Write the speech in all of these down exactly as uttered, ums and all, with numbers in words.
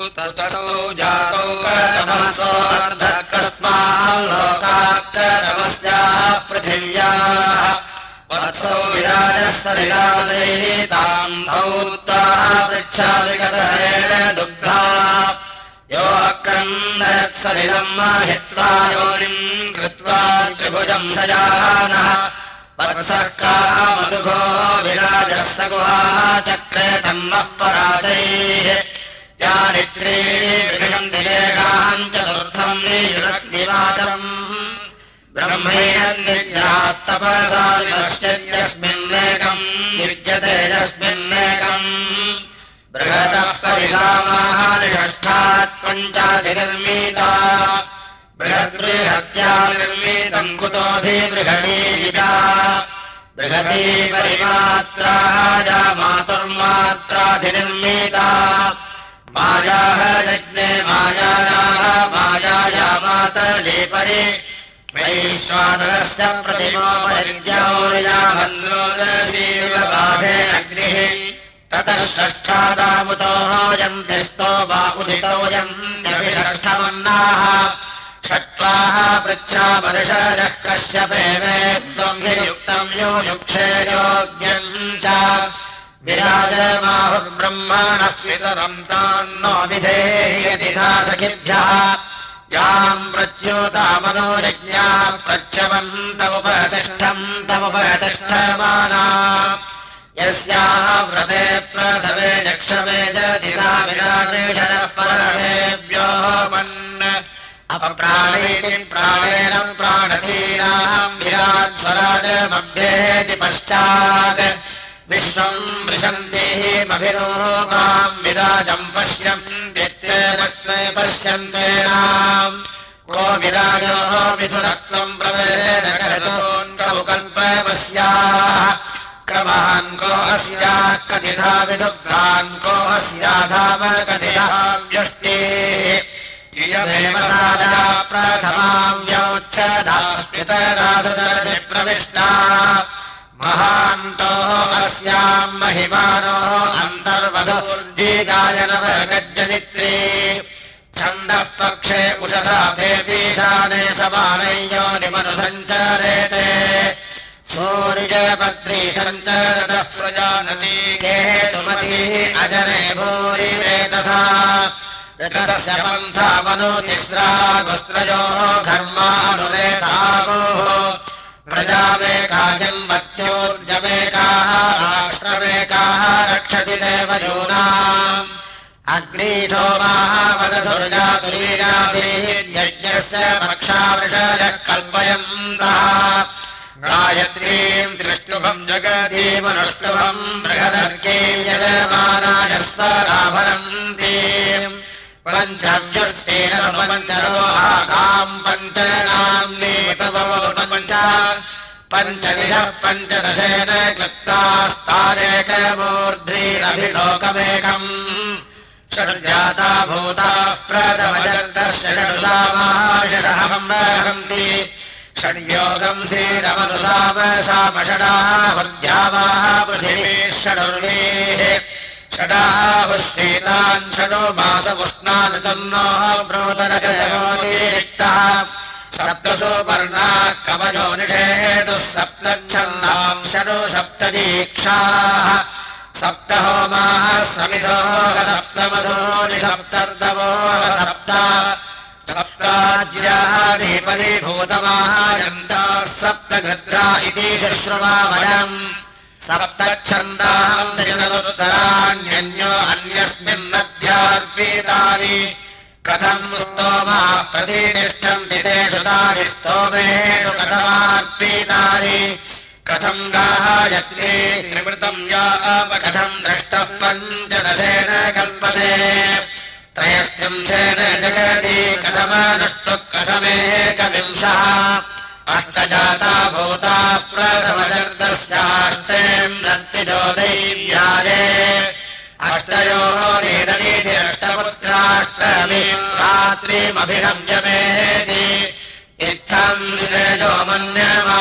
कुतस्तौ जातौ कस्माल्लोकाकरमस्याः पृथिव्याः वत्सौ विराजः सलिलादैताम् धौत्ताः पृच्छाविगतहरेण दुग्धा यो अक्रन्दयत्सलिलम् हित्वा योनिम् कृत्वा त्रिभुजम् शयानः वत्सः कामदुघो विराजः स गुहाः चक्रे तन्मः पराजैः यानि त्रीणि विषयन्ति एकाम् चतुर्थम् नियुरग्निवाचम् ब्रह्मैरन्दिर्यात्तपसा विनश्यत्यस्मिन्नेकम् युज्यते यस्मिन्नेकम् बृहतः परिधामाः निषष्ठात् पञ्चाधिनिर्मीता बृहद्बृहत्या निर्मीतम् कुतोऽधिबृहणीविदा बृहती परिमात्राः या मातुर्मात्राधिनिर्मीता मायाः यज्ञे मायायाः मायाया मातले परि वैश्वानरस्य प्रतिमो परिज्ञौर्याभन्द्रोदशीव बाधे अग्निः ततः षष्ठादामुतोः यन्ति स्तोमा उदितोऽयन्त्यभिषष्ठमन्नाः षट्वाः पृच्छा वर्षजः कश्यपेवेत्त्वम् गिरियुक्तम् यो युक्षे योग्यम् च विराजमाहुर्ब्रह्मणः पितरम् तान्नो विधेहि यतिथा सखिभ्यः याम् प्रच्युतामनोरज्ञाः प्रच्यवन्तमुपतिष्ठम् तमुपतिष्ठमाना यस्याः व्रते प्रथमे जक्षमे जदिता विराटेषणः परमेभ्यो मन् अपप्राणेति प्राणेन प्राणतीनाम् विराट् स्वराजमभ्येति पश्चात् विश्वम् वृषन्तेमभिरोमाम् विराजम् पश्यन्त्येनस्मै पश्यन्तेनाम् को विराजो विधुरक्तम् प्रवेद करतोऽन्कौ कल्पमस्याः क्रमान् को अस्याः कथिता विदुग्धान् को अस्याधाम कथिता व्यष्टेः इयमेव सादा प्रथमाम् व्यौच्छदास्थितराधुदरति प्रविष्टा महान्तो अस्याम् महिमानो अन्तर्वधूर्जीगायनवगज्जनित्रे छन्दः पक्षे उषसा देवीशाने समानै योनिमनुसञ्चरेते सूर्यपत्री सञ्चरतः प्रजानती केतुमती अजने भूरिरेतसा ऋतस्य पन्था मनुतिस्रा गुस्त्रयोः घर्मानुरेतागोः प्रजामेका जन्मत्योर्जमेकाः राष्ट्रमेकाः रक्षति देवयूनाम् अग्नीशोमाः वदधुर्जातुरीराधीर्यज्ञस्य पक्षावृषयः कल्पयन्तः गायत्रीम् त्रिष्टुभम् जगतीमनुष्टुभम् बृहदर्गे यजमानाय स्वराभरन्ति पञ्चव्युष्टेनपञ्चरोहाकाम् पञ्चनाम् निमितवो पञ्च पञ्चदिशः पञ्चदशेन क्लुप्तास्तानेकमूर्ध्रीरभिलोकमेकम् षड्जाता भूताः प्रथमजन्तस्य षडुसामाषहम्बहन्ति षड्योगम् श्रीरमनुसामशामषडाः हृद्यावाः पृथिवी षडुर्वेः षडाहुश्चेतान् षडो मासमुष्णानुतन्नोः ब्रोतरजयोतिरिक्तः सप्तसु पर्णाः कवयो निषेतुः सप्तच्छन्दाम् षडो सप्तदीक्षाः सप्तहोमाः समिधोः सप्तमधूनि सप्तर्दवोः सप्त सप्ताज्यानि परिभूतमाहायन्ताः सप्तगृध्रा इति शुश्रुवावयम् सप्तच्छन्दाम् चतुरुत्तराण्यन्यो अन्यस्मिन्नध्यार्पितानि कथम् स्तोमाः प्रतिष्ठन्ति तेषु तानि स्तोमेषु कथमार्पितानि कथम् गायत्री निवृतम् यापकथम् द्रष्टः पञ्चदशेन कल्पते त्रयस्त्रिंशेन जगति कथमनुष्टुः कथमेकविंशः अष्टजाता भूता प्रथमजर्दस्याष्टेम् दत्तिजो दैव्याये अष्टयोः नीरनीतिरष्टपुत्राष्टमी रात्रिमभिषम्यमेति इत्थम् श्रेयो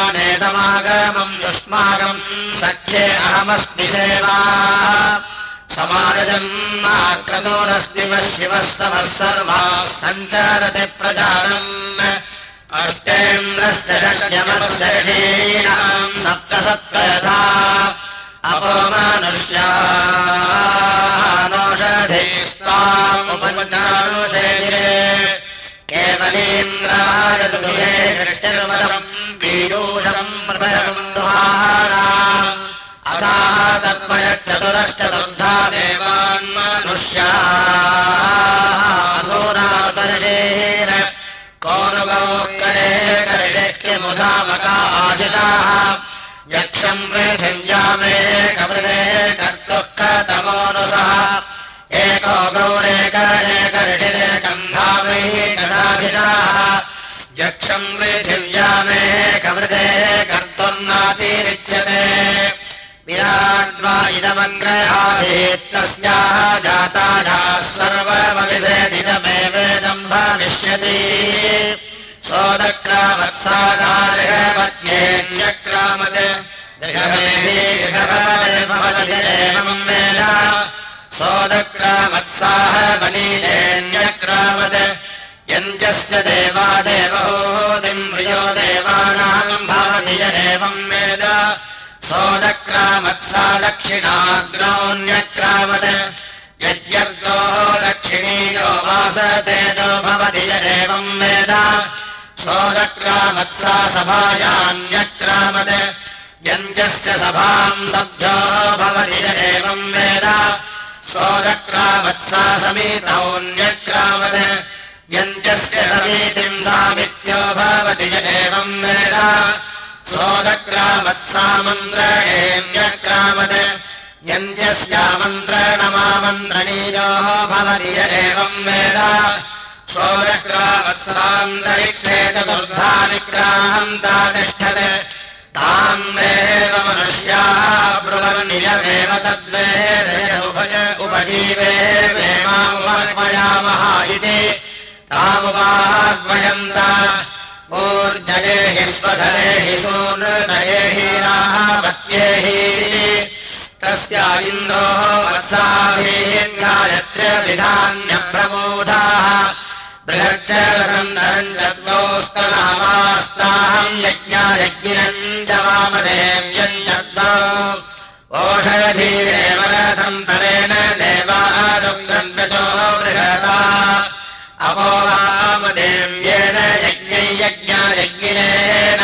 मन्यमानेतमागमम् युष्माकम् सख्ये अहमस्मि सेवा समारजन्माक्रतोरस्तिवः शिवः समः सर्वाः सञ्चरति प्रजानन् अष्टेन्द्रस्य षड्यमस्य षीणाम् सप्त सप्त यथा अपो मनुष्यानौषधीस्तामुपज्ञानुषेदिरे केवलीन्द्राय दुदुहे दृष्टिर्वशम् पीयूषम् पृथयम् दुहारा अथाः तर्पयश्चतुरश्चतुर्धा देवान् मनुष्याः असुरातर्षेर कोनुगौकरे कर्षिष्यमुधामका आशिषाः यक्षम् पृथिव्यामेकवृदे कर्तुः कतमोनुसः एको गौरेकरेकर्षिरेकम् धामैकदाशिषाः यक्षम् पृथिव्यामेकवृदे कर्तुर्नातिरिच्यते विराड्वा इदमग्रहाधीत्तस्याः जाताजाः सर्वमविभेदितमेवेदम् भविष्यति सोदक्रामत्सागार्हपत्न्येऽन्यक्रामत् गृहमेऽभिगृहपदेवम् वेद सोदक्रामत्साह वनीनेऽन्यक्रामत् यञ्जस्य देवा देवहूतिम् प्रियो देवानाम् भवति यदेवम् वेद सोदक्रामत्सा दक्षिणाग्नोऽन्यक्रामत् यज्ञर्गो दक्षिणीयो वासतेजो भवति यदेवम् वेद सोदक्रामत्सा सभायान्यक्रामत् यञ्जस्य सभाम् सभ्यो भवति यदेवम् वेद सोदक्रामत्सा समीतौन्यक्रामत् यञ्जस्य समीतिम् सामित्यो भवति यदेवम् वेद सोदक्रामत्सा मन्त्रणेऽन्यक्रामत् यञ्जस्यामन्त्रणमामन्त्रणीयो भवति यदेवम् वेद सोदक्रामत्सान्तरिक्षे चतुर्धा निग्राहन्ता तिष्ठत् ताम् देव मनुष्याः ब्रुवन्नियमेव तद्वेदय उभय उपजीवे वेमामुपयामः इति तामुपाह्वयन्त ऊर्जये हि स्वधरे हि सूनृतये हि राहवत्ये हि तस्या इन्द्रो वत्साभिः गायत्र्यविधान्यप्रबोधाः बृहच्चरन्दरम् जद्गौस्तनामास्ताहम् यज्ञायज्ञिनम् च वामदेव्यम् जद्गौ ओषधीरेव रथम् तरेण देवादुग्रन्वचो बृहता अपो वामदेव्येन यज्ञै यज्ञायज्ञिनेन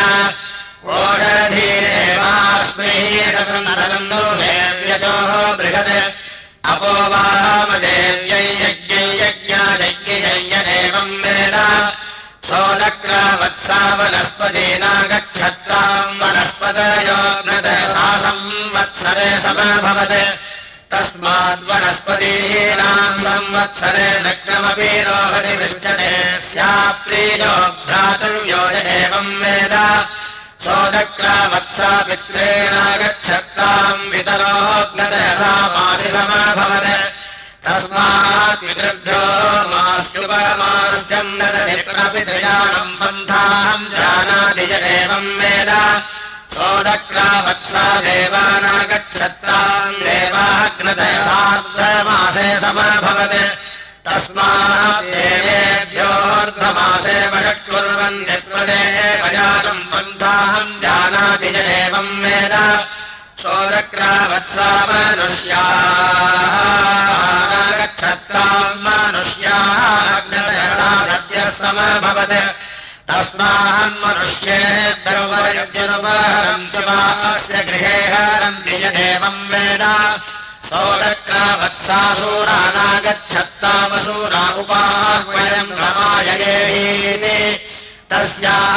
ओषधीरेवास्मै रथम् देव्यचो बृहत् अपो वामदेव्यै यज्ञै यज्ञायज्ञयेवम् वेद सोदक्रामत्सा वनस्पतीना गच्छत्ताम् वनस्पतयोग्नत सा संवत्सरे समभवत् तस्माद्वनस्पतीनाम् संवत्सरे नग्नमपि रोहति दृश्यते स्याप्रीयो भ्रातुर्यो एवम् वेद सोदक्रामत्सा पित्रेणा गच्छत्ताम् पितरोग्नतसा मासि समभवत् तस्मात् पितृभ्यो मास्युपमास्यम् ददति प्रपितृयाणम् पन्थाम् जानाति च एवम् वेद सोदक्रामत्सा देवाना गच्छत्ताम् देवाग्नतसार्धमासे समभवत् तस्मात् देवेभ्योऽर्धमासे वषट्कुर्वन्ति प्रदेवजातम् पन्थाहम् जानाति च एवम् वेद सोदक्रामत्सा मनुष्याः गच्छत्ताम् मनुष्याग्नतसा सद्यः समभवत् तस्मान्मनुष्येभ्योपयुज्यनुपहरन्ति वास्य गृहे हरन्ति यदेवम् वेद सोदक्रामत्सासूरानागच्छत्तामसूरा उपाह्वयम् रमाययेहीति तस्याः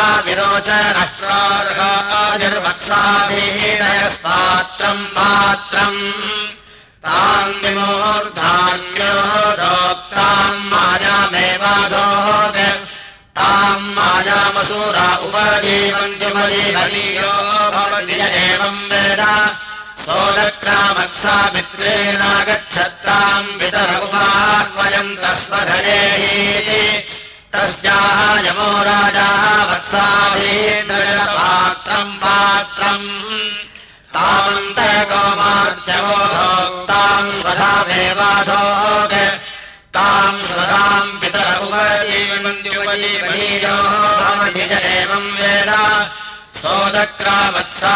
विरोचनश्रार्हादिर्वत्साधीनयस्पात्रम् पात्रम् ताम् विमूर्धान्यो रोक्ताम् मायामेवाधोत् ताम् मायामसूरा उपजीवन्त्युपजीवनीयो भवति एवम् वेद सोदक्रामत्सा मित्रेणा गच्छत्ताम् पितर उपाह्वयम् तस्वधरेहीति तस्याः यमो राजाः वत्साधीन्द्रजलपात्रम् पात्रम् तामन्तकोमार्त्यवोधोक्ताम् स्वधामेवाधोग ताम् स्वधाम् पितर उपजीवन्त्युपजीवनीयो भवति च एवम् वेद सोदक्रामत्सा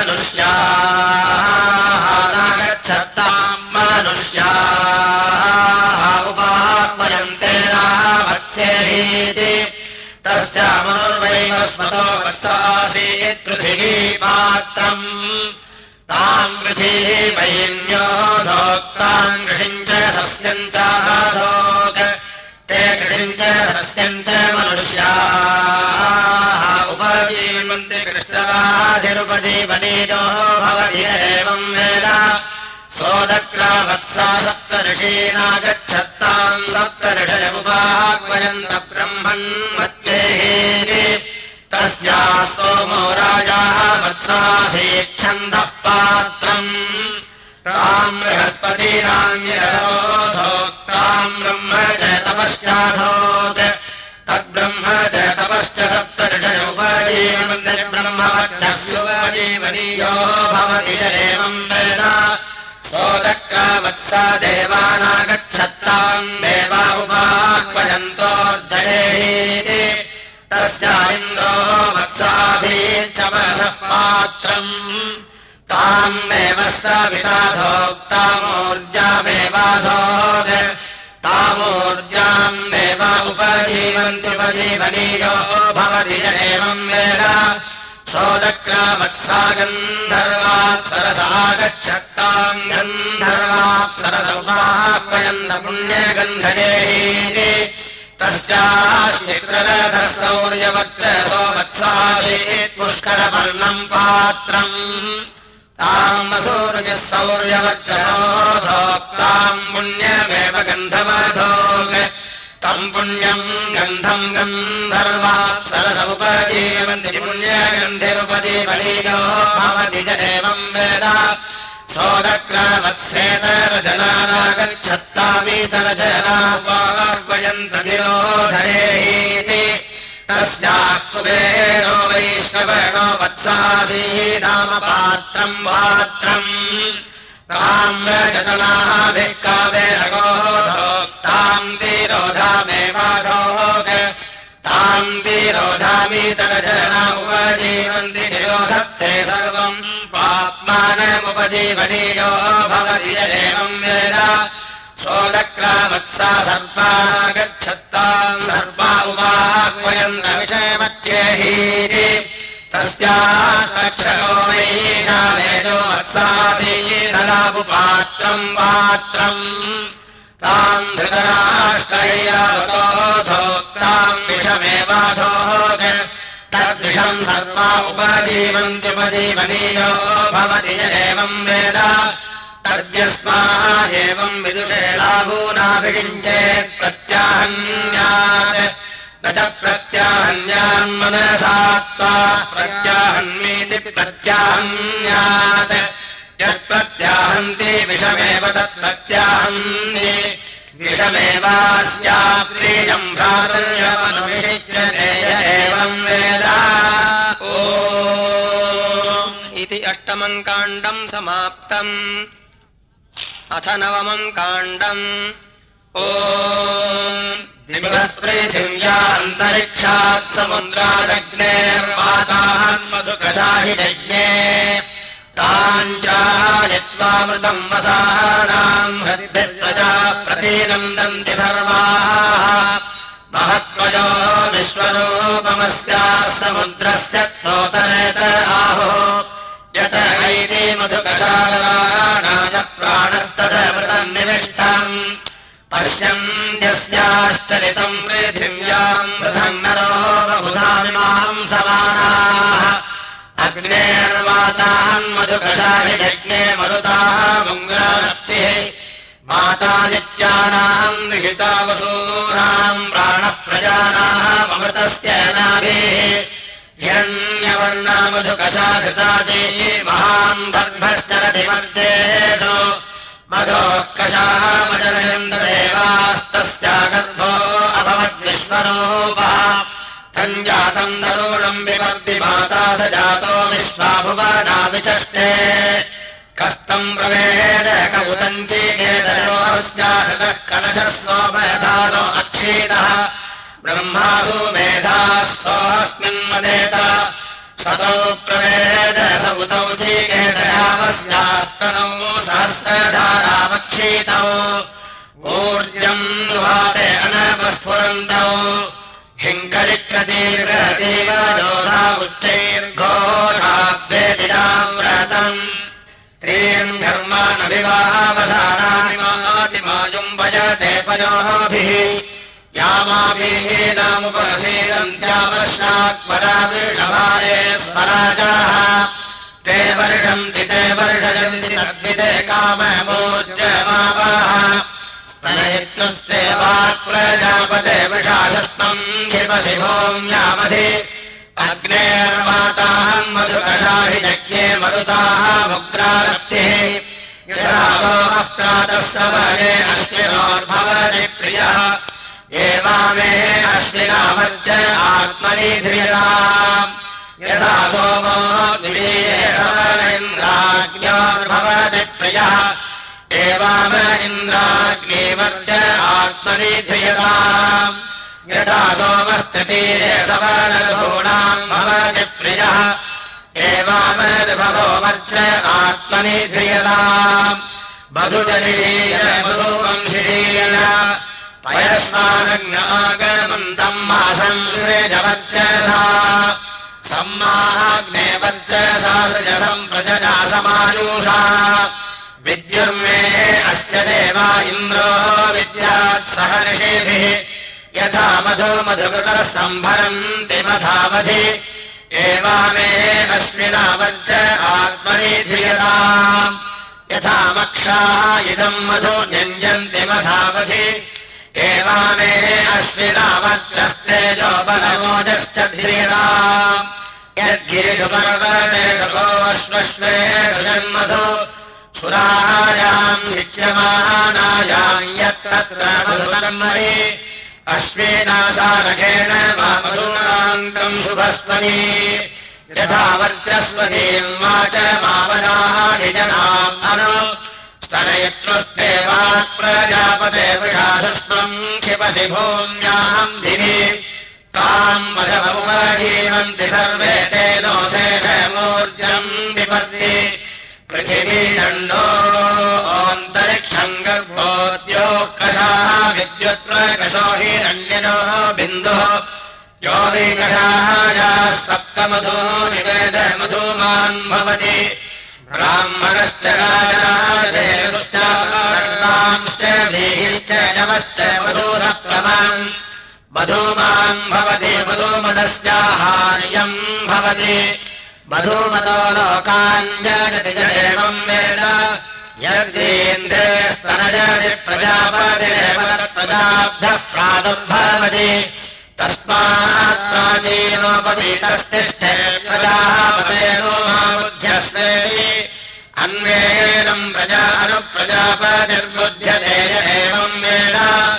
मनुष्याः नागच्छत्ताम् मनुष्याः उपाह्वयन्ते नामत्स्येहीति तस्यामनुर्वैवस्मतो वत्सासीत् पृथिवी पात्रम् ताम् पृथिवीवैन्यो धोक्ताम् कृषिम् च सस्यम् चाधोक् ते कृषिम् च सस्यम् च मनुष्याः उपजीवन्ति कृष्णराधिरुपजीवनीयो भवति एवम् वेद सोदक्रामत्सा सप्तऋषीनागच्छत्ताम् सप्तऋषय उपाह्वयन्त ब्रह्मन् मध्येहि तस्याः सोमो राजाः वत्सासीच्छन्दः पात्रम् ताम् बृहस्पतीनान्यरोधोक्ताम् ब्रह्म च तपश्चाधोक् तद्ब्रह्म च तपश्च सप्तऋषय उपजीवन्ति ब्रह्मवत्सस्योपजीवनीयो भवति च एवम् वेद सोदक्रामत्सा देवानागच्छत्ताम् देवा उपाह्वयन्तोर्जयेहि तस्यारिन्द्रो वत्साधीच्च मनसः पात्रम् ताम् देवः सविताधोक्तामूर्जामेवाधोग तामूर्जाम् देव उपजीवन्त्युपजीवनीयो भवति च एवम् वेद सोदक्रामत्सा गन्धर्वाप्सरसागच्छत्ताम् गन्धर्वाप्सरस उपाह्वयन्त पुण्यगन्धयेहि तस्याश्चित्ररथः सौर्यवच्चसो वत्सासीत् पुष्करवर्णम् पात्रम् ताम् वसूरुजः सौर्यवच्चसोधोक्ताम् पुण्यमेव गन्धमधोक् तम् पुण्यम् गन्धम् गन्धर्वाप्सरस उपजीवन्ति पुण्यगन्धिरुपजीवनीयो भवति च एवम् वेद सोदक्रामत्सेतरजनानागच्छत्तामीतरजनापाह्वयन्त तिरोधरेहीति तस्याः कुबेरो वैष्णवेणो वत्सासीनामपात्रम् पात्रम् ताम्रजतनाभिः कावेरगोधोक्ताम् तिरोधामेवाधोक् ताम् तिरोधामीतरजना उपजीवन्ति तिरोधत्ते सर्वम् पाप्मानमुपजीवनीयो भवति एवम् वेद सोदक्रामत्सा सर्पानागच्छत्ताम् सर्पा उपाह्वयन्त विषयमत्येहीति तस्यास्तक्षको वैशालेजो वत्सासीदलापुपात्रम् पात्रम् ताम् धृतराष्ट्रैरावतोधोक्ताम् विषमेवाधोक् तद्विषम् सर्वा उपजीवन्त्युपजीवनीयो भवति एवम् वेद तद्यस्मा एवम् विदुषे लाभूनाभिषिञ्चेत् प्रत्याहन्यात् न च प्रत्याहन्यान्मनसात्वा प्रत्याहन्मीति प्रत्याहन्यात् यत्प्रत्याहन्ति विषमेव तत्प्रत्याहन्ति विषमेवास्याप्रियम् भ्रातृर्यमनुविषिच्यते एवम् वेद ॐ इति अष्टमम् काण्डम् समाप्तम् अथ नवमम् काण्डम् ॐ दिवस्पृथिव्यान्तरिक्षात् समुद्रादग्नेर्वातान्मधुकशाहिजज्ञे ताञ्चायत्वामृतम् वसानाम् हृद्भिर्प्रजा प्रतीनन्दन्ति सर्वाः महत्त्वयो विश्वरूपमस्याः समुद्रस्य स्तोतरेत आहो यत ऐति मधुकशालानाय प्राणस्तदमृतम् निविष्टम् पश्यन्त्यस्याश्चरितम् पृथिव्याम् पृथम् नरो बहुधामिमाम् समानाः अग्नेर्वातान् मधुकशाहिजज्ञे मरुताः मुङ्गानप्तिः मातादित्यानाम् निहिता वसूनाम् प्राणः प्रजानाम् अमृतस्य नाभिः हिरण्यवर्णा मधुकशाघृता चेयी महान् गर्भश्चरति मध्येषु मधोः कषामजनयन्त देवास्तस्या गर्भो अभवद्विश्वरूपः तञ्जातम् तरुणम् विवर्ति माता स जातो विश्वाभुवना विचष्टे कस्तम् प्रवेद कबुतम् चीकेत जातः कलशः सोमधानो अक्षीतः ब्रह्मासु मेधाः सोऽस्मिन् मदेत सतौ प्रवेद सौतौ चीकेतयामस्यास्तनौ सहस्रधारावक्षीतौ ऊर्जम् दुहाते अनपस्फुरन्तौ हिङ्कलिक्रतीर्गतीव योधा उच्चैर्घोषाभ्येतिराव्रतम् त्रीन् घर्मानभिवावसानामिमातिमायुम् भजते पयोभिः यामाभिः नामुपसीदन्त्यावर्षात्परावृषभारे स्वराजाः ते वर्षन्ति ते वर्षयन्ति तद्विते काममोज्जमावाः स्तनयित्युस्ते वाक्प्रजापते विषाशस्त्वम् क्षिपसि भूम्यामधि अग्नेर्माताम् मधुकषाहि यज्ञे मरुताः मुग्रारप्तिः यथा सोमः प्रातः सवये अश्विनोर्भवति प्रियः एवामे अश्विनावर्ज आत्मनि ध्रियताम् यथा सोमो इन्द्राग्न्योर्भवति प्रियः एवाम इन्द्राग्निवर्ज आत्मनि ध्रियताम् यथा सोमस्थितीरे सवनर्भूणाम् भवति प्रियः एवाम विभवो वर्ज आत्मनि ध्रियताम् मधुजनिषीय मधुवंशिषीय पयस्वानग्नागमन्तम् मासम् सृजवर्चसा सम्माग्ने वर्चसा सृजसम् प्रजया समायुषा विद्युर्मे अस्य देवा इन्द्रो विद्यात् सह ऋषिभिः यथा मधु मधुकृतः सम्भरन्ति मधावधि एवामे अश्विना वर्ज आत्मनि ध्रियताम् यथा मक्षाः इदम् मधु न्यञ्जन्ति मधावधि एवामे अश्विना वर्चस्तेजो बलमोजश्च ध्रियताम् यद्गिरिषु पर्वतेषु गोष्वश्वेषु जन्मधु सुरायाम् शिच्यमानायाम् यत्र मधुकर्मणि अश्विनाशारकेण वा मधुनान्तम् शुभस्वनी यथा वर्चस्वतीम् वाच मावनानि जनाम् अनु स्तनयित्वस्ते वाक्प्रजापते विषाशस्त्वम् क्षिपसि भूम्याम् दिवि ताम् वशमुपजीवन्ति सर्वे तेनो शेषमूर्जम् विपर्दि पृथिवी दण्डो ओन्तरिक्षम् गर्भोद्योः कषाः विद्युत्प्रकशो हिरण्यनो बिन्दुः यो विकषायाः सप्तमधो निवेद मधुमान् भवति ब्राह्मणश्च राजाश्च व्रीहिश्च यमश्च मधुसप्तमान् मधुमान् भवति मधुमदस्याहार्यम् भवति मधुमतो लोकान् जयति जडेवम् वेद यद्देन्द्रे स्तनजति प्रजापतिरेव तत्प्रजाभ्यः प्रादुर्भवति तस्मात् प्राचीनोपवीतस्तिष्ठे प्रजापतेनो माबुध्यस्वेति अन्वेनम् प्रजा अनुप्रजापतिर्बुध्यते एवम् वेद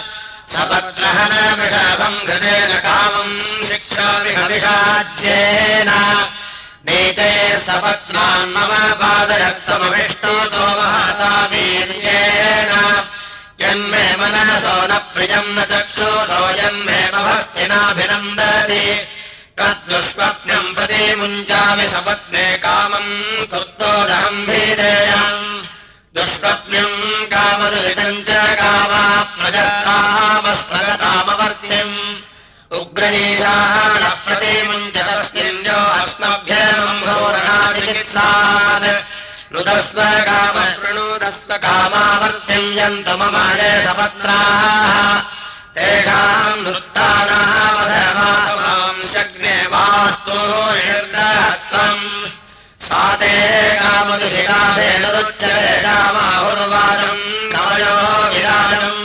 सपत्रहनमिषभम् घृतेन कामम् शिक्षाविषाज्येन नीते सपत्नान् मम पादरक्तमभिष्टोतो महता वीर्येण यन्मे मनसो न प्रियम् न चक्षुषो यन्मे मभस्तिनाभिनन्दति तद्दुष्स्वप्नम् प्रति मुञ्चामि सपत्ने कामम् स्तुतोऽहम् भीदेयम् दुष्स्वप्नम् कामदुरितम् च कामा प्रजतामस्वगतामवर्त्यम् उग्रनीशानः प्रतिमुञ्चतस्मिन् यो अस्मभ्यम् घोरणाचिकित्सात् नुदस्व काम प्रणुदस्व कामावर्त्यम् यन्तु ममाये सपत्राः तेषाम् नृत्तानामधमाम् शग्ने वास्तु निर्दहत्वम् सा ते कामदुरिकाधेनुरुच्यते कामाहुर्वादम् कवयो विराजम्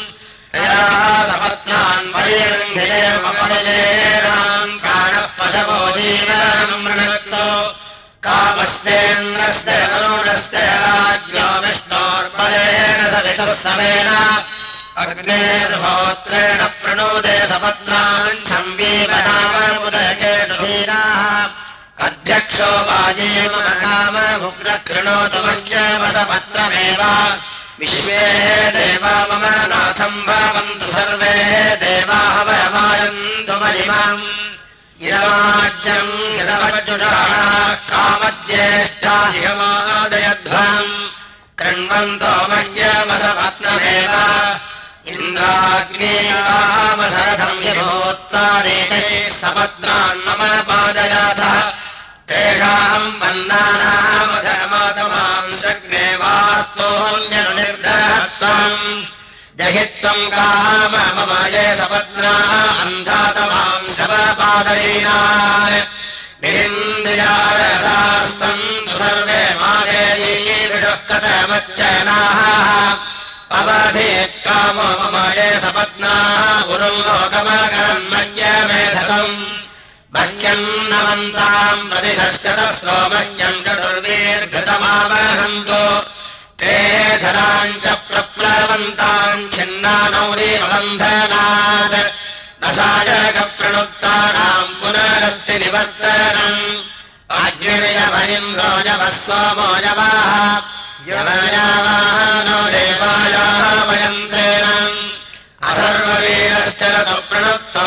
सपत्नान् परिरङ्घिते मपरिजेनाम् प्राणः पशवो जीवनम् मृणक्तो कामस्तेन्द्रस्य वरुणस्य राज्ञो विष्णोर्बलेन सवितः समेन अग्नेर्होत्रेण प्रणोदे सपत्नान् छम्बीवनामुदयेषु धीराः अध्यक्षो वाजीवनाम उग्रकृणोतु मह्यमसपत्रमेव विश्वे देवा मम नाथम् भवन्तु सर्वे देवाः वयमायन्तु महिमाम् इदमाज्यम् यदवज्जुषाणाः कामज्येष्ठा इहमादयध्वम् कृण्वन्तो मह्यमसपत्नमेव इन्द्राग्नेयामसरथम् हिमोत्तानेतैः सपत्नान् मम पादयाथः तेषाम् वन्नानामधर्मातमाम् शग्ने वास्तोऽन्यनुनिर्दहत्वम् जहित्वम् काम मम ये सपत्नाः अन्धातमाम् शवपादलीनान् विरिन्द्रियारसाः सन्तु सर्वे मादेयीषुः कथमच्चनाः अवधेत् कामो मम ये सपत्नाः पुरुल्लोकमकरन्मह्यमेधतम् मह्यम् नमन्ताम् प्रतिशश्चतस्रो मह्यम् चतुर्वीर्घृतमावहन्तु ते धराम् च प्रप्लवन्ताम् छिन्नानौरीवबन्धनात् न सायकप्रणुक्तानाम् पुनरस्ति निवर्तनम् अग्निर्यवनिन्द्रो यवः सोमो यवाः यवयावानो देवायाः वयन्तेन असर्ववीरश्चरतु प्रणुक्तो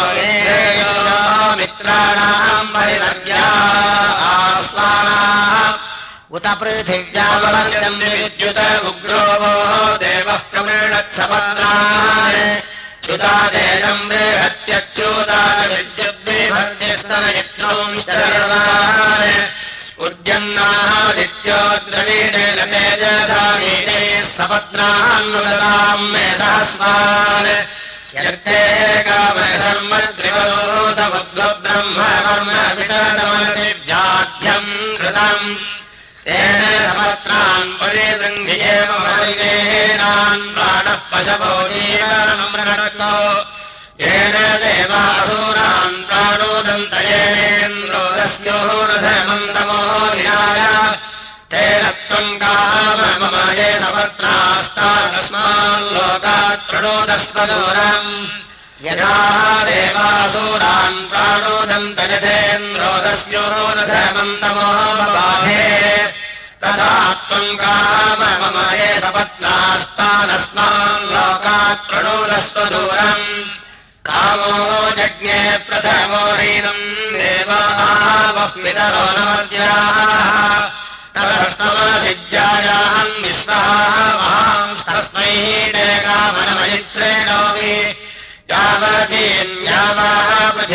मित्राणाम् परिवर्या आस्वानाः उत पृथिव्यावलस्यम् विद्युत उग्रो वो देवः प्रवृणत्सपत्नान् च्युतादेयम् बृहत्यच्युतान् विद्युद्बिभर्तिस्तनयित्रोंश्चर्वान् उद्यन्नादित्यो द्रवीणेन तेजसा नीतेः सपत्नान्नुदताम् मे सहस्वान् यर्ते कामशर्मत्रिवरोधमुद्ब्रह्म कर्म वितरमनतिव्याध्यम् कृतम् तेन सपत्नान् परिवृङ्घ्येव परिगेनान् प्राणः पशवो जीवनमृणक्तो येन देवासुरान् प्राणोदन्तयेनेन्द्रोदस्योरथमन्तमो विनाय तेन त्वम् काम मम ये सपत्नास्तास्माल्लोकात् प्रणोदस्व दूरम् यथा देवासुरान् प्राणोदन्तयथेन्द्रोदस्योरथमन्तमो बबाधे तथा त्वम् काम मम ये सपत्नास्तानस्माल्लोकात् प्रणोदस्व दूरम् कामो जज्ञे प्रथमो हीनम् देवावः पितरो नमर्याः ततस्तमसिज्जायान् विश्वः महांस्तस्मै ते कामनमयित्रेणोऽपि यावतीन्यावः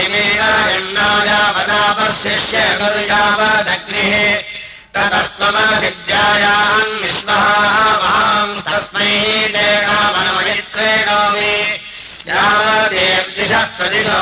पृथिवीरण्णायावदापशिष्य गुर्यावदग्निः ततस्तमसिज्जायान् विश्वः महांस्तस्मै ते कामनमयित्रेणोऽपि यावदेर्दिशः प्रदिशो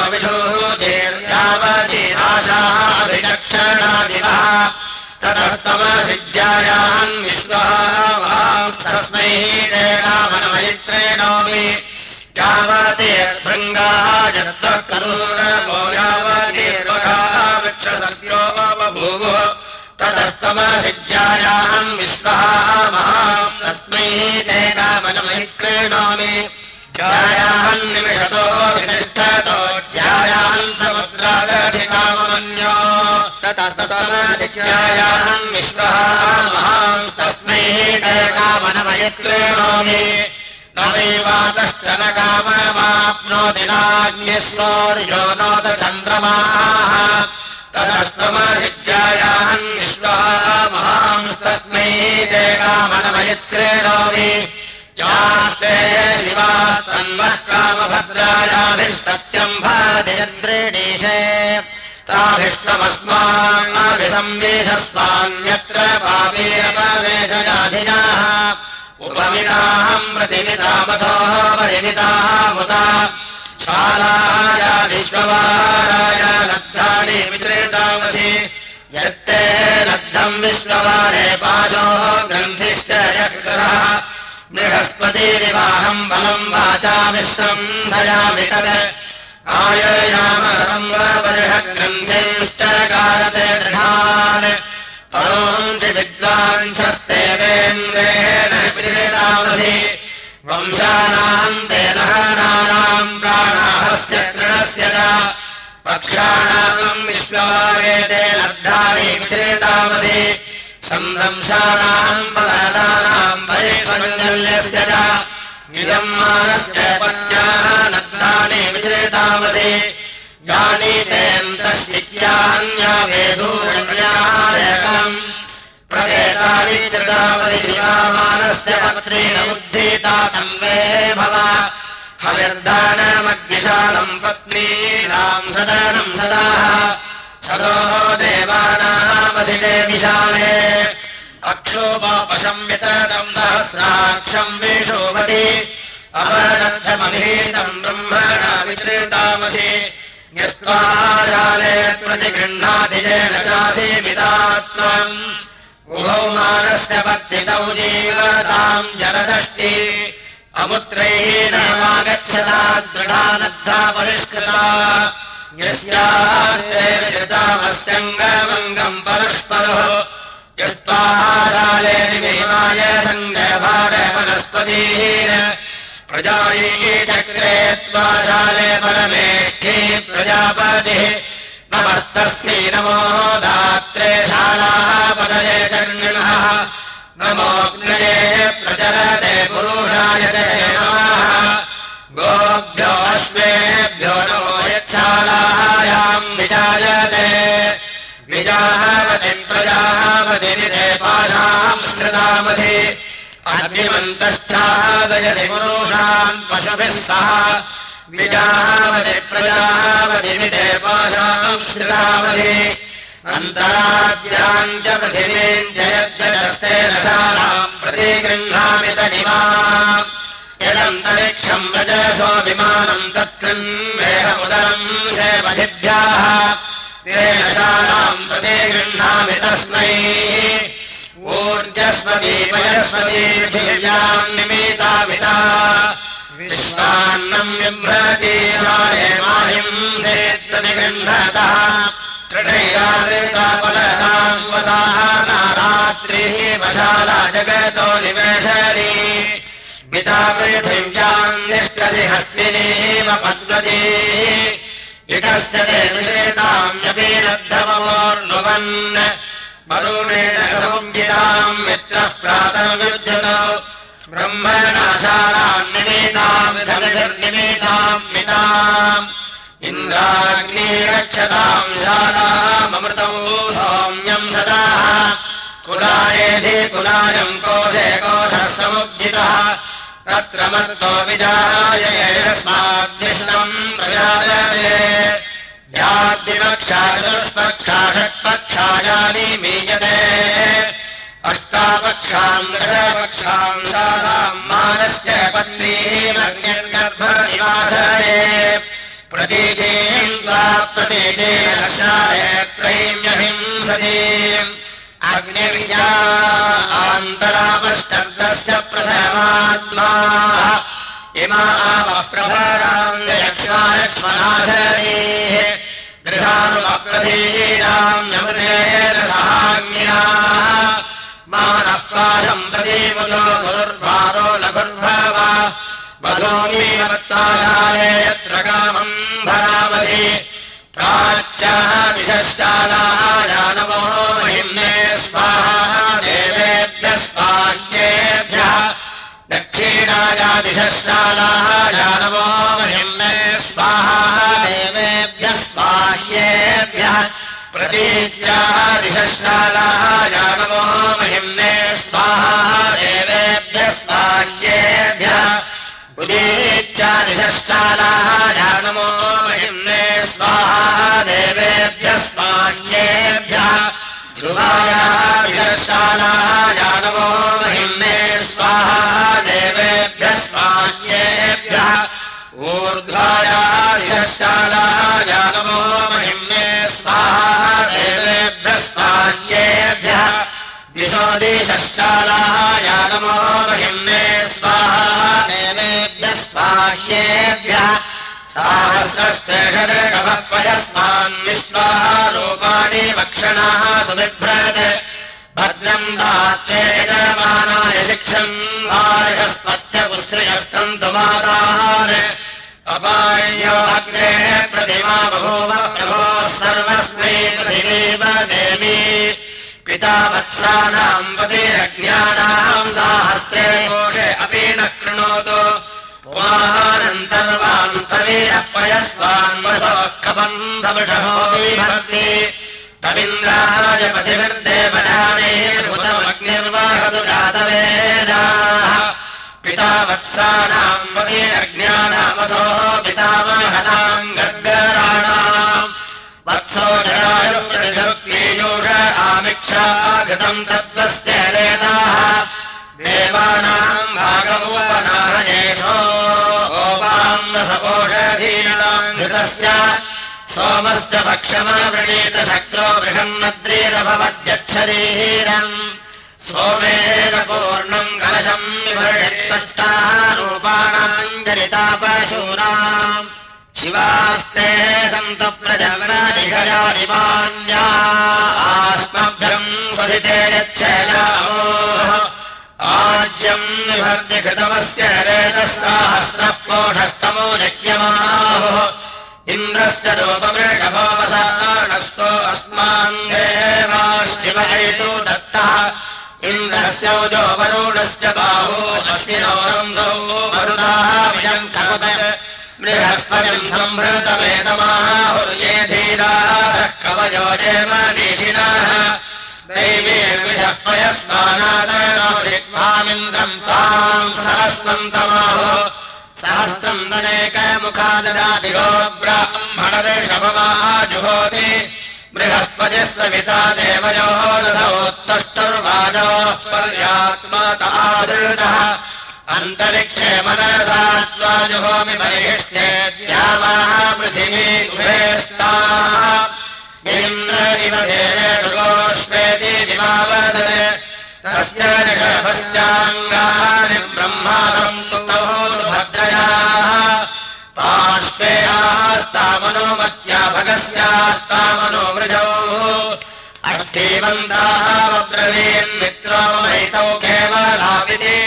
विधूचेर्यावतीनाशाभिलक्षणादिवः ततस्तमसिज्जायान् विश्वः महांस्तस्मै ते कामनमयित्रेणोऽपि यावतेर्भृङ्गाः जत्वः करूरवो यावतीर्वगाः वृक्षसर्प्यो बभूवुः ततस्तमसिज्जायान् विश्वः महांस्तस्मै ते कामनमयित्रेणोऽपि जायान्निमिषतो वितिष्ठतो ज्यायान् समुद्रादधिकामन्यो ततस्तमसिज्जायान् विश्वः महांस्तस्मै ते कामनमयित्रेणोऽपि न वैवातश्च न काममाप्नोति नाग्निः सौर्यो नोत चन्द्रमाः ततस्तमसिज्जायान् विश्वः महांस्तस्मै ते कामनमयित्रेणोऽपि यास्ते शिवास्तन्वः कामभद्रायाभिः सत्यम् भाजयन्द्रेणीशे ताभिष्टमस्मान्नाभिसंवेशस्वान्यत्र पापेरपवेशयाधिनाः उपमिताहम् प्रतिमितामथो परिमितामुता शालाय विश्ववाराय लब्धानि मिश्रितामसि यत्ते लब्धम् विश्ववारे पाशो ग्रन्थिश्च यः बृहस्पतिरिवाहम् बलम् वाचा विश्वम् धयामि तत् आययाम संववर्षग्रन्थिंश्च कारते दृढान् परोंसि विद्वांसस्तेवेन्द्रेण विदितामसि वंशानाम् ते दहनानाम् प्राणाहस्य तृणस्य च पक्षाणाम् विश्ववारेते लब्धानि विचेतामसि संरंशानाम् बलदानाम् ऐश्वर्यस्य च इदम् मानस्य पत्न्याः नद्दानि विचेतामसि यानि तेऽन्तश्चित्यान्या वेदूर्ण्यायकम् प्रवेतानि चृतावति शिवामानस्य पत्रेण बुद्धिता तम् वे भव हविर्दानमग्निशालम् पत्नीनाम् सदनम् सदाः सदो देवानामसिते विशाले अक्षोपशंवितम् सहस्राक्षम् विशोभति अपरद्धमभीतम् ब्रह्मणा विचृतामसि यस्त्वाशाले प्रतिगृह्णाति येन चासीमितात्मम् उभौ मानस्य पत्नितौ जीवताम् जलदष्टि अमुत्रैः नमागच्छता दृढा नद्धा परिष्कृता यस्यास्ते विचृतामस्यङ्गमङ्गम् परस्परः यस्त्वाशाले निमेमाय सङ्गभारे वनस्पतिः प्रजायै चक्रे त्वाशाले परमेष्ठी प्रजापतिः नमस्तस्यै नमो दात्रे शालाः पदये चर्णिणः नमोऽग्नये प्रचरते पुरुषाय च नमः गोभ्यो अश्वेभ्यो नमो यच्छालायाम् विचायते विजावति प्रजापतिनिधे पाशाम् श्रुतामसि अग्निमन्तश्चादयति पुरुषान् पशुभिः सह विजावति प्रजापतिनिधे पाशाम् श्रुतामसि अन्तराद्याम् च पृथिवीम् च यद्यजस्तेन शालाम् प्रतिगृह्णामि तनिमा यदन्तरिक्षम् रजसो विमानम् तत्कृन्वेह उदरम् सेवधिभ्याः तेन शालाम् प्रतिगृह्णामि तस्मै ऊर्जस्वती वयस्वती पृथिव्याम् निमीतामिता विश्वान्नम् बिभ्रती शाले माहिम् सेत्प्रतिगृह्णतः तृणैरावृतापलताम् वसाना रात्रिः वशाला जगतो निवेशरी पिता पृथिव्याम् निष्ठसि हस्तिनीव पद्मतीः इतस्य ते निषेताम्यपि नद्धमवोर्नुवन् वरुणेन समुज्जिताम् मित्रः प्रातर्विद्युतो ब्रह्मणा शालाम् निमीताम् धनुभिर्निमीताम् मिताम् इन्द्राग्नी रक्षताम् शालाममृतौ सौम्यम् सदा कुलायेधि कुलायम् कोशे कोशः समुज्जितः तत्र मर्तो विजाय यस्माद्विष्णम् प्रजायते याद्विपक्षा चतुष्पक्षा षट्पक्षायानि मीयते अष्टापक्षाम् दशपक्षाम् शालाम् मानस्य पत्नीमग्निर्गर्भनिवासने प्रतीचीम् त्वा प्रतीचेन शाले त्रयीम्यहिंसतीम् अग्निर्या आन्तरापश्चर्दस्य प्रथमात्मा इमा आवः प्रभराम् यक्ष्मायक्ष्मनाशरीः गृहानुमप्रतीनाम् यमृतेन सहाग्न्या मानः पाशम् प्रतीमुदो गुरुर्भारो लघुर्भव वधूमीवर्ताशाले यत्र कामम् भरामसि प्राच्याः दिशश्चालाय नमो महिम्ने स्वाहा देवेभ्यः स्वाह्येभ्यः दक्षिणाया दिशश्चालाय नमो महिम्ने स्वाहा देवेभ्यः स्वाह्येभ्यः प्रतीच्याः दिशश्चालाय नमो महिम्ने स्वाहा देवेभ्यः स्वाह्येभ्यः उदीच्या दिशश्चालाय नमो महिम्ने स्वाहा देवेभ्यः स्वाह्येभ्यः ध्रुवाया दिशश्चालाय नमो महिम्ने स्वाहा देवेभ्यः स्वाह्येभ्यः ऊर्ध्वाया दिशश्चालाय नमो महिम्ने स्वाहा देवेभ्यः स्वाह्येभ्यः दिशो दिशश्चालाय नमो महिम्ने स्वाहा देवेभ्यः स्वाह्येभ्यः सहस्रस्तेषदर्गभक्वयस्मान् विश्वाः रूपाणि वक्षणाः सुबिभ्रत् भद्रम् दात्रे यजमानाय शिक्षम् वार्हस्पत्यपुश्रियस्तन्तु मातान् अपार्यो अग्रे प्रतिमा बभूव प्रभोः सर्वस्मै पृथिवीव देवी पिता वत्सानाम् पतिरज्ञानाम् साहस्रे कोशे अपि न कृणोतु पुमानन्तर्वान् स्थवीरपयस्वान् वसोः कबन्धवृषभो बिभर्ति तमिन्द्राय पतिभिर्देवयानेर्भूतमग्निर्वाहतु जातवेदाः पिता वत्सानाम् पतिरज्ञानामसोः पितामहताम् गर्गराणाम् वत्सो जरायुर्पतिशुक्लीयूष आमिक्षा घृतम् तद्वस्य लेदाः देवानाम् भागमुपनाहयेषो गोपाम्नसपोषधीनाम् घृतस्य सोमस्य भक्षमवृणीत शक्रो बृहन्नद्रीरभवद्यच्छरीरम् सोमेन पूर्णम् कलशम् विवर्षित्तष्टारूपाणाम् जनितापशूनाम् शिवास्ते सन्तु प्रजगणादिघयादिमान्या आस्मभ्यम् स्वधिते यच्छयामो आज्यम् विभर्ति कृतमस्य रेतः साहस्रः कोषस्तमो यज्ञमाहुः इन्द्रस्य रूपमृषभोपसारणस्तो अस्मान् देवा शिव हेतु दत्तः इन्द्रस्य उजो वरुणस्य बाहो अश्विनोरन्धो मरुदाः विजम् करुत बृहस्पतिम् सम्भृतमेतमाहुर्ये धीराः कवयो जयमनीषिणः दैवीर्विषः पयस्मानादनोषित्वामिन्द्रम् ताम् सहस्रन्तमाहुः सहस्रम् दनेकमुखा ददाति गो ब्राह्मणऋषभमाजुहोति बृहस्पतिः सविता देवयोः दधोत्तष्टुर्वाजोः पर्यात्मतादृतः अन्तरिक्षे मनसा त्वाजुहोमि परिहिष्टे द्यावाः पृथिवी उभेस्ताः इन्द्र इव देवेषु गोष्वेति विमावर्धते तस्य ऋषभस्याङ्गानि ब्रह्मादम् स्तौतु भद्रयाः पार्श्वेयास्तामनोमत्या भगस्यास्तामनो वृजौ अष्टीवन्ताः वब्रवीन्मित्रो ममैतौ केवलाविति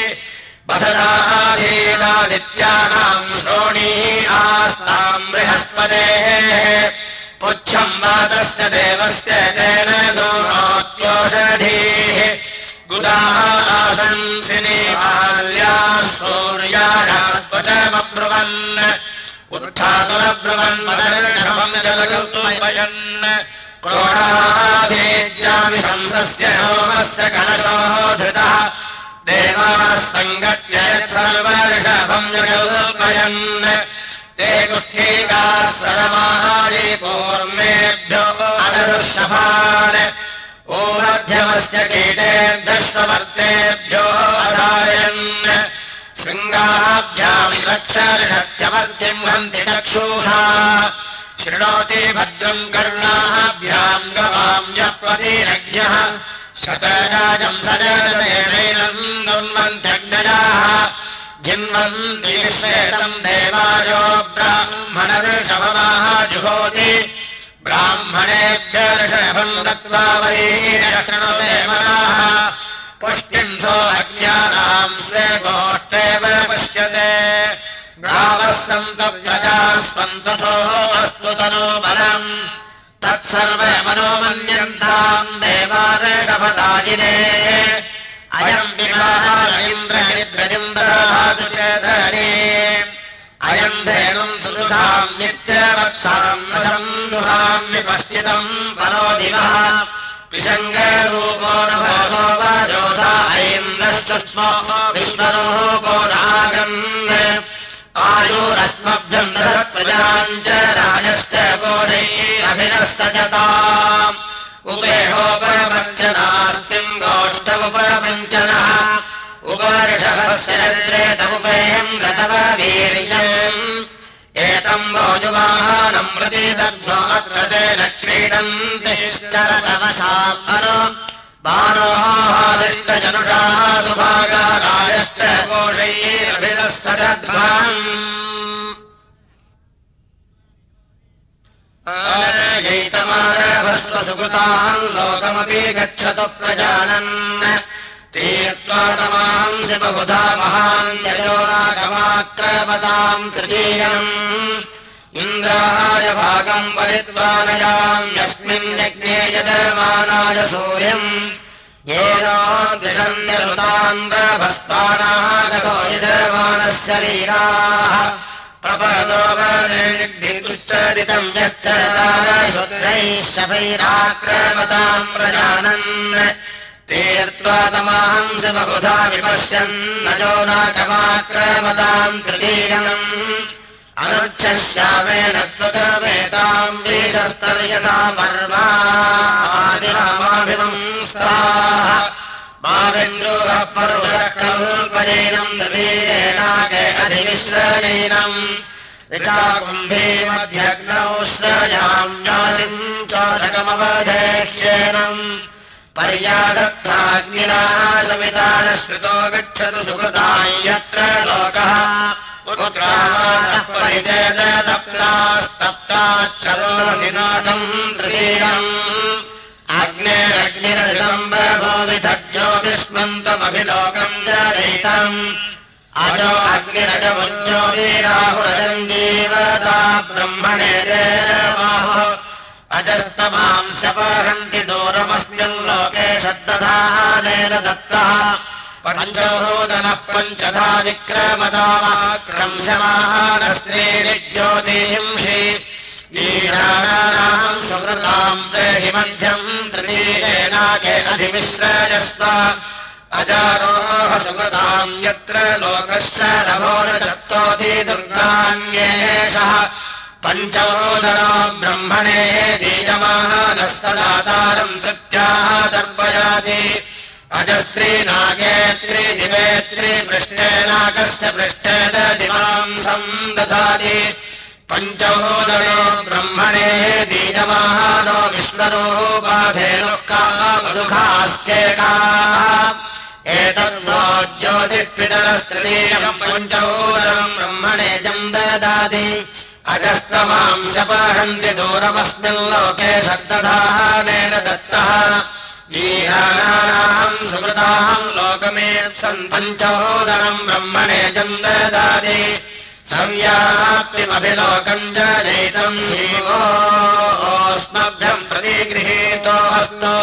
वसदाधीनादित्यानाम् श्रोणीः आस्ताम् बृहस्पतेः पुच्छम् वातस्य देवस्य तेन दोषोषधीः गुदाः आशंसिनी बाल्याः सूर्यायास्पचमब्रुवन् उत्थातुरब्रुवन् मदर्षभम् जलकल्पयन् क्रोडाधेज्यामि शंसस्य होमस्य कलशोः धृतः देवाः सङ्गट्य यत्सर्वऋषभम् जलकल्पयन् ते कुष्ठीकाः सरमाये कूर्मेभ्यो अदरुषभान् ऊर्ध्वमस्य कीटेभ्यश्ववर्तेभ्यो अधारयन् शृङ्गाभ्याम् रक्षऋषत्यवर्तिम् हन्ति चक्षुषा शृणोति भद्रम् कर्णाभ्याम् गवाम् यप्रतिरज्ञः शतजाजम् सजनतेनैनम् दुर्वन्त्यग्नजाः जिन्वन्ति श्वेतम् देवायो ब्राह्मणऋषभमाः जुहोति ब्राह्मणेभ्य ऋषभम् दत्त्वा वरीरकृणुते मनाः पुष्टिम् सो अज्ञानाम् स्वे गोष्ठेव पश्यते गावः सन्तु प्रजाः सन्ततो अस्तु तनो बलम् तत्सर्वे मनोमन्यन्ताम् देवाऋषभदायिने अयम् विवाह इन्द्रनिद्रजिन्द्रादुषधरे अयम् धेनुम् सुदुहाम् नित्यवत्सरम् वशम् दुहाम् विपश्चितम् परो दिवः विषङ्गरूपो नभोसो वाजोधा ऐन्द्रश्चुष्मो विश्वरूपो नागन् आयुरस्मभ्यम् दधत्प्रजाम् च राजश्च कोशैरभिनः सजताम् उपेहोपवञ्चनास्तिम् गोष्ठमुपवञ्चनः उपऋषभस्य रेत उपेयम् गतव वीर्यम् एतम् भोजुवाहनम् प्रति दद्मो अत्र तेन क्रीडन्तिश्चरतवशाम् अनु बाणोहादिष्टजनुषाः सुभागारायश्च कोशैरभिनः सजध्वम् जैतमारभस्व सुकृताम् लोकमपि गच्छतु प्रजानन् तीर्त्वा तमांसि बहुधा महान्ययो नागमाक्रमताम् तृतीयम् इन्द्राय भागम् वलित्वा नयाम् यस्मिन् यज्ञे यजमानाय सूर्यम् येनोद्विषन्यरुताम्रभस्वानागतो यजमानस्य वीराः प्रपदोगनिर्धितुश्चरितं यश्च शूद्रैः शफैराक्रमतां प्रजानन् तीर्त्वा तमांसि बहुधा विपश्यन् नजो नाकमाक्रमतां तृतीयम् अनुच्छस्यामेन त्वचमेताम् वीशस्तर्यथा पर्वादिरामाभिवंस्ताः मावेन्द्रोः परुषः कल्पयेनम् तृतीयेनाके अधिविश्रयेनम् विचाकुम्भे मध्यग्नौ श्रयाम्यासिम् चोदकमवधेह्येनम् पर्यादत्ताग्निना समितानश्रुतो गच्छतु सुकृताम् यत्र लोकः उत्क्रामतः परिचेदप्तास्तप्ताच्चरोदिनाकम् तृतीयम् अग्नेरग्निरजम् ज्योतिष्मन्तमभिलोकम् जनयितम् अजो अग्निरजमुज्योतिराहुरजम् जीवता ब्रह्मणे देवाहुः अजस्तमाम् शपहन्ति दूरमस्मिन् लोके शब्दधानेन दत्तः पञ्चभूतनः पञ्चधा विक्रमतामाक्रंशमानस्त्रीणि ज्योतिंषि ईराणानाम् सुकृताम् प्रेहि मध्यम् तृतीयेनाके अधिविश्रयस्व अजारोह सुकृताम् यत्र लोकस्य नभो न चत्तोति दुर्गान्येषः पञ्चभूतनो ब्रह्मणे दीयमानः सदातारम् तृप्त्याः दर्पयाति अजस्त्रीनागेत्री दिवेत्री पृष्ठेनाकस्य पृष्ठे दिवांसम् ददाति पञ्चभूतनो ब्रह्मणे दीयमानो विश्वरूपाधेनुकामदुःखास्येकाः एतद्वो ज्योतिष्पितरस्तृतीयम् पञ्चभूतनम् ब्रह्मणे जम् ददाति अजस्तमाम् शपहन्ति दूरमस्मिन् लोके शब्दधानेन दत्तः ईराणानाम् सुकृताम् लोकमेप्सन् पञ्चभूतनम् ब्रह्मणे जम् ददाति संव्याप्तिमभिलोकम् जनयितम् शिवोऽस्मभ्यम् प्रतिगृहीतोऽस्तु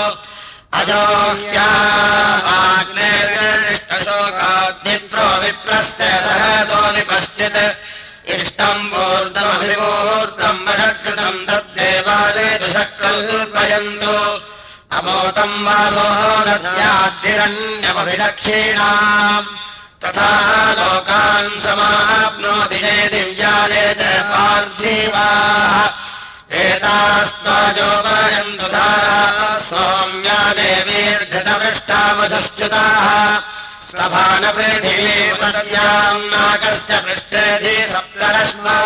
अजोऽस्याग्नेर्गरिष्ठशोकाग्निप्रो विप्रस्य सहसो विपश्चित् इष्टम् वूर्धमभिवूर्धम् वषट्कृतम् तद्देवाले दुषक्कल्पयन्तु अमोतम् वासो दद्याद्धिरण्यमभिदक्षिणाम् तथा लोकान् समाप्नोति ये दिव्याले च पार्थिवाः एतास्त्वाजोपरयन्तु धाराः सौम्या देवीर्घृतपृष्टा मधुश्च्युताः स्तभानपृथिवी उदत्याम् नाकस्य पृष्ठेधि सप्तरश्मौ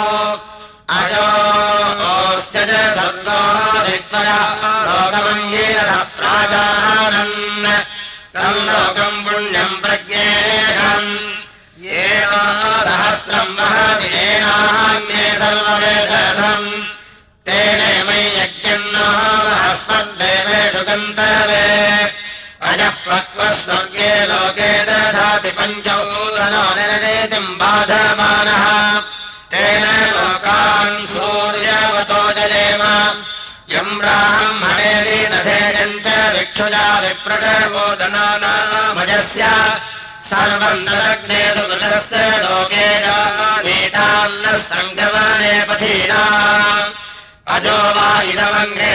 अजोऽस्य च सर्गोऽधित्वया लोकमङ्गीरः प्राजानन् तम् लोकम् पुण्यम् प्रज्ञेहम् येन सहस्रम् महतिनेनान्ये सर्ववेदसम् तेने मयि यज्ञम् नो महस्मद्देवेषु गन्तवे अजः प्रक्वः स्वर्गे लोके दधाति पञ्चभूतनो निर्णेतिम् बाधमानः तेन लोकान् सूर्यवतो जयेम यम् ब्राह्मणेरि दधेयम् च विक्षुजा विप्रशर्वोदनानामजस्य सर्वम् ददग्ने सुकृतस्य लोके नीतान्नः सङ्गमने पथीना अजो वा इदमङ्गे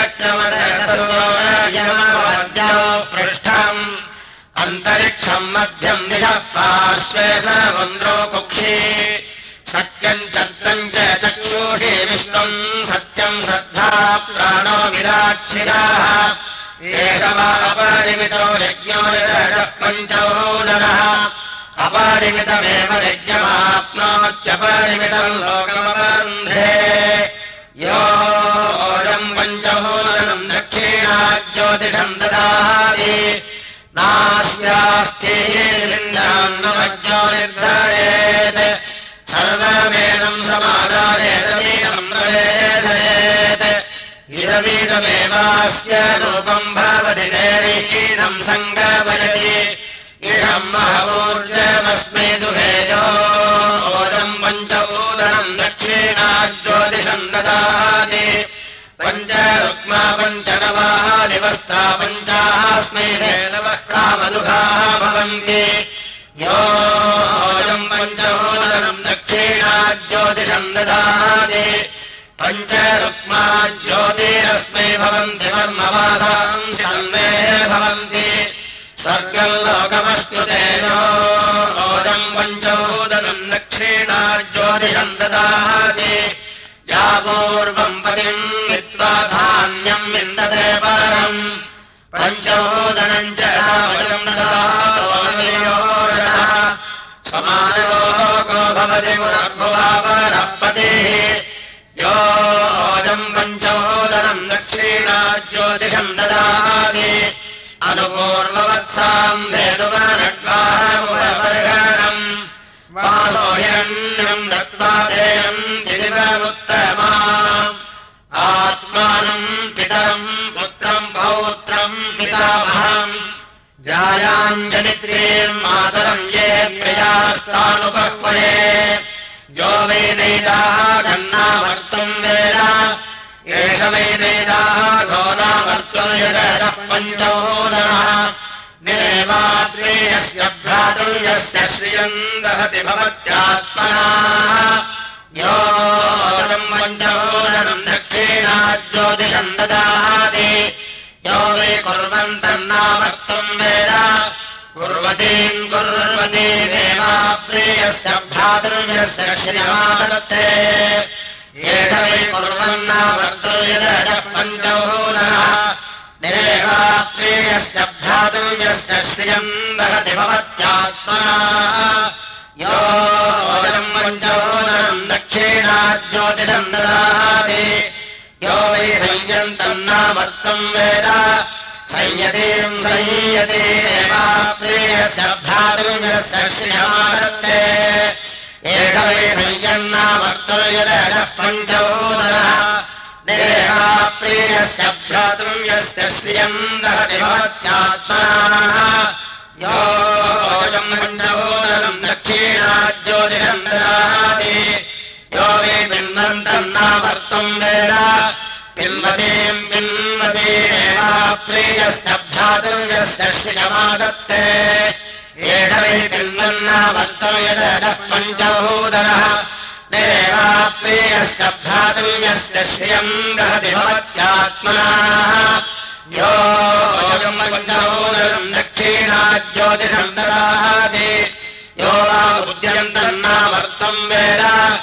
व्यक्तमदसोऽयमवद्यो पृष्ठम् अन्तरिक्षम् मध्यम् दिशः पार्श्वे सर्वन्द्रो कुक्षी सत्यम् चत्रम् च चक्षुषे विश्वम् सत्यम् श्रद्धा प्राणो विराक्षिराः एष वा अपरिमितो यज्ञो निरजः पञ्चभूतनः अपरिमितमेव यज्ञमाप्नोत्यपरिमितम् लोकमवरुन्धे योऽयम् पञ्चभूतनम् दक्षिणाज्योतिषम् ददाति नास्यास्तिर्विन्द्यान्नमज्ञो निर्धरेत् सर्वमेनम् समादानेदमीनम् प्रवेशयेत् इदमीदमेवास्य रूपम् भवति देवीनम् सङ्गमयति इदम् महवूर्जमस्मै दुहेजो ओदम् पञ्चभूतनम् दक्षिणाज्योतिषम् ददाति पञ्च रुक्मा पञ्च नवाः निवस्ता पञ्चास्मै धेनवः कामदुघाः भवन्ति योऽयम् पञ्चोदरम् दक्षिणाज्योतिषम् ददाति पञ्च रुक्मा ज्योतिरस्मै भवन्ति वर्मवासांसि तन्मे भवन्ति स्वर्गम् लोकमश्नुतेजोऽयम् पञ्चोदरम् दक्षिणाज्योतिषम् ददाति या पूर्वम् पतिम् वित्त्वा धान्यम् विन्दते परम् पञ्चोदनम् च रामजम् ददातोऽनवियोजनः समानलोको भवति पुरर्भुवापरः पतिः योऽयम् पञ्चोदनम् दक्षिणाज्योतिषम् ददाति अनुपूर्ववत्साम् धेनुवनड्वारमुपवर्गणम् वासो हिरण्यम् दत्त्वा देयम् दिदिवमुत्तमा आत्मानम् पितरम् पुत्रम् पौत्रम् पितामहम् जायाञ्जनित्रीम् मातरम् ये प्रियास्तानुपह्वये यो वै नैदाः घन्नावर्तुम् वेद एष वै नैदाः घोरावर्तुर्यदः पञ्चोदनः निरेवात्रेयस्य भ्रातुर्यस्य श्रियम् दहति भवत्यात्मना योऽयम् पञ्चोदनम् दक्षिणाज्योतिषम् ददाति यो वै कुर्वन्तन्नावर्तुम् वेद कुर्वतीम् कुर्वतीमेवाप्रेयस्य भ्रातुर्यस्य श्रियमादत्ते एष वै कुर्वन्नावर्तुर्यदः पञ्चोदनः निरेवाप्रेयस्य भ्रातुर्यस्य श्रियम् दहति भवत्यात्मना योऽयम् पञ्चोदनम् दक्षिणाज्योतिषम् ददाति यो वै संयन्तम् नावर्तुम् वेद संयतीम् संयतीमेवाप्रेयस्य भ्रातुर्यस्य श्रियमादत्ते एष वै संयन्नावर्तुर्यदः पञ्चोदनः निरेवाप्रेयस्य भ्रातुर्यस्य श्रियम् दहति भवत्यात्मना योऽयम् पञ्चोदनम् दक्षिणाज्योतिषम् ददाति यो वै पिन्वन्तम् नावर्तुम् वेद पिन्वतीम् पिन्वतीमेवाप्रेयस्य भ्रातुर्यस्य श्रियमादत्ते एष वै पिन्वन्नावर्तुर्यदः पञ्चोदनः निरेवाप्रेयस्य भ्रातुर्यस्य श्रियम् दहति भवत्यात्मना योऽयम् पञ्चोदनम् दक्षिणाज्योतिषम् ददाति यो वा उद्यन्तम् नावर्तुम् वेद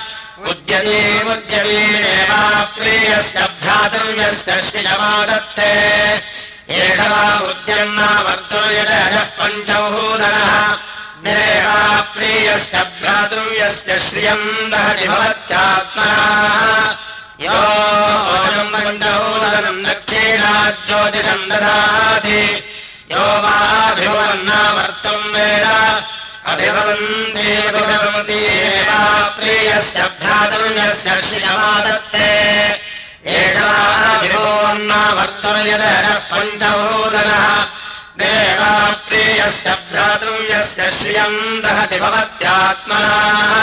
उद्यतीमुद्यतीमेवाप्रेयस्य भ्रातुर्यस्य श्रियमादत्ते एष वा उद्यन्नावर्तुर्यदः पञ्चोदनः निरेवाप्रेयस्य भ्रातुर्यस्य श्रियम् दहति भवत्यात्मना योऽयम् पञ्चोदनम् दक्षिणाज्योतिषम् ददाति यो वाभिभवन्नावर्तुम् वेद अभिभवन्तीभिभवन्तीमेवाप्रेयस्य भ्रातुर्यस्य श्रियमादत्ते एष वाभिभवन्नावर्तुर्यदः पञ्चोदनः निरेवाप्रेयस्य भ्रातुर्यस्य श्रियम् दहति भवत्यात्मना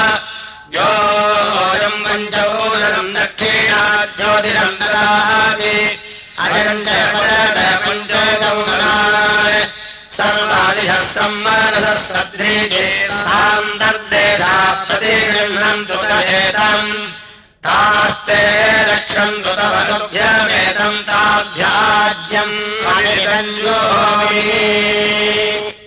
योऽयम् पञ्चोदनम् दक्षिणाज्योतिषम् ददाति अजम् च परत पञ्चोदनाय सर्वादिशः सम्मानसः सद्रीजे सान्तर्देशाः प्रतिगृह्णन्तु तदेतम् तास्ते रक्षन्तु तव तुभ्यमेतम् ताभ्याज्यम् मणिरञ्जोमि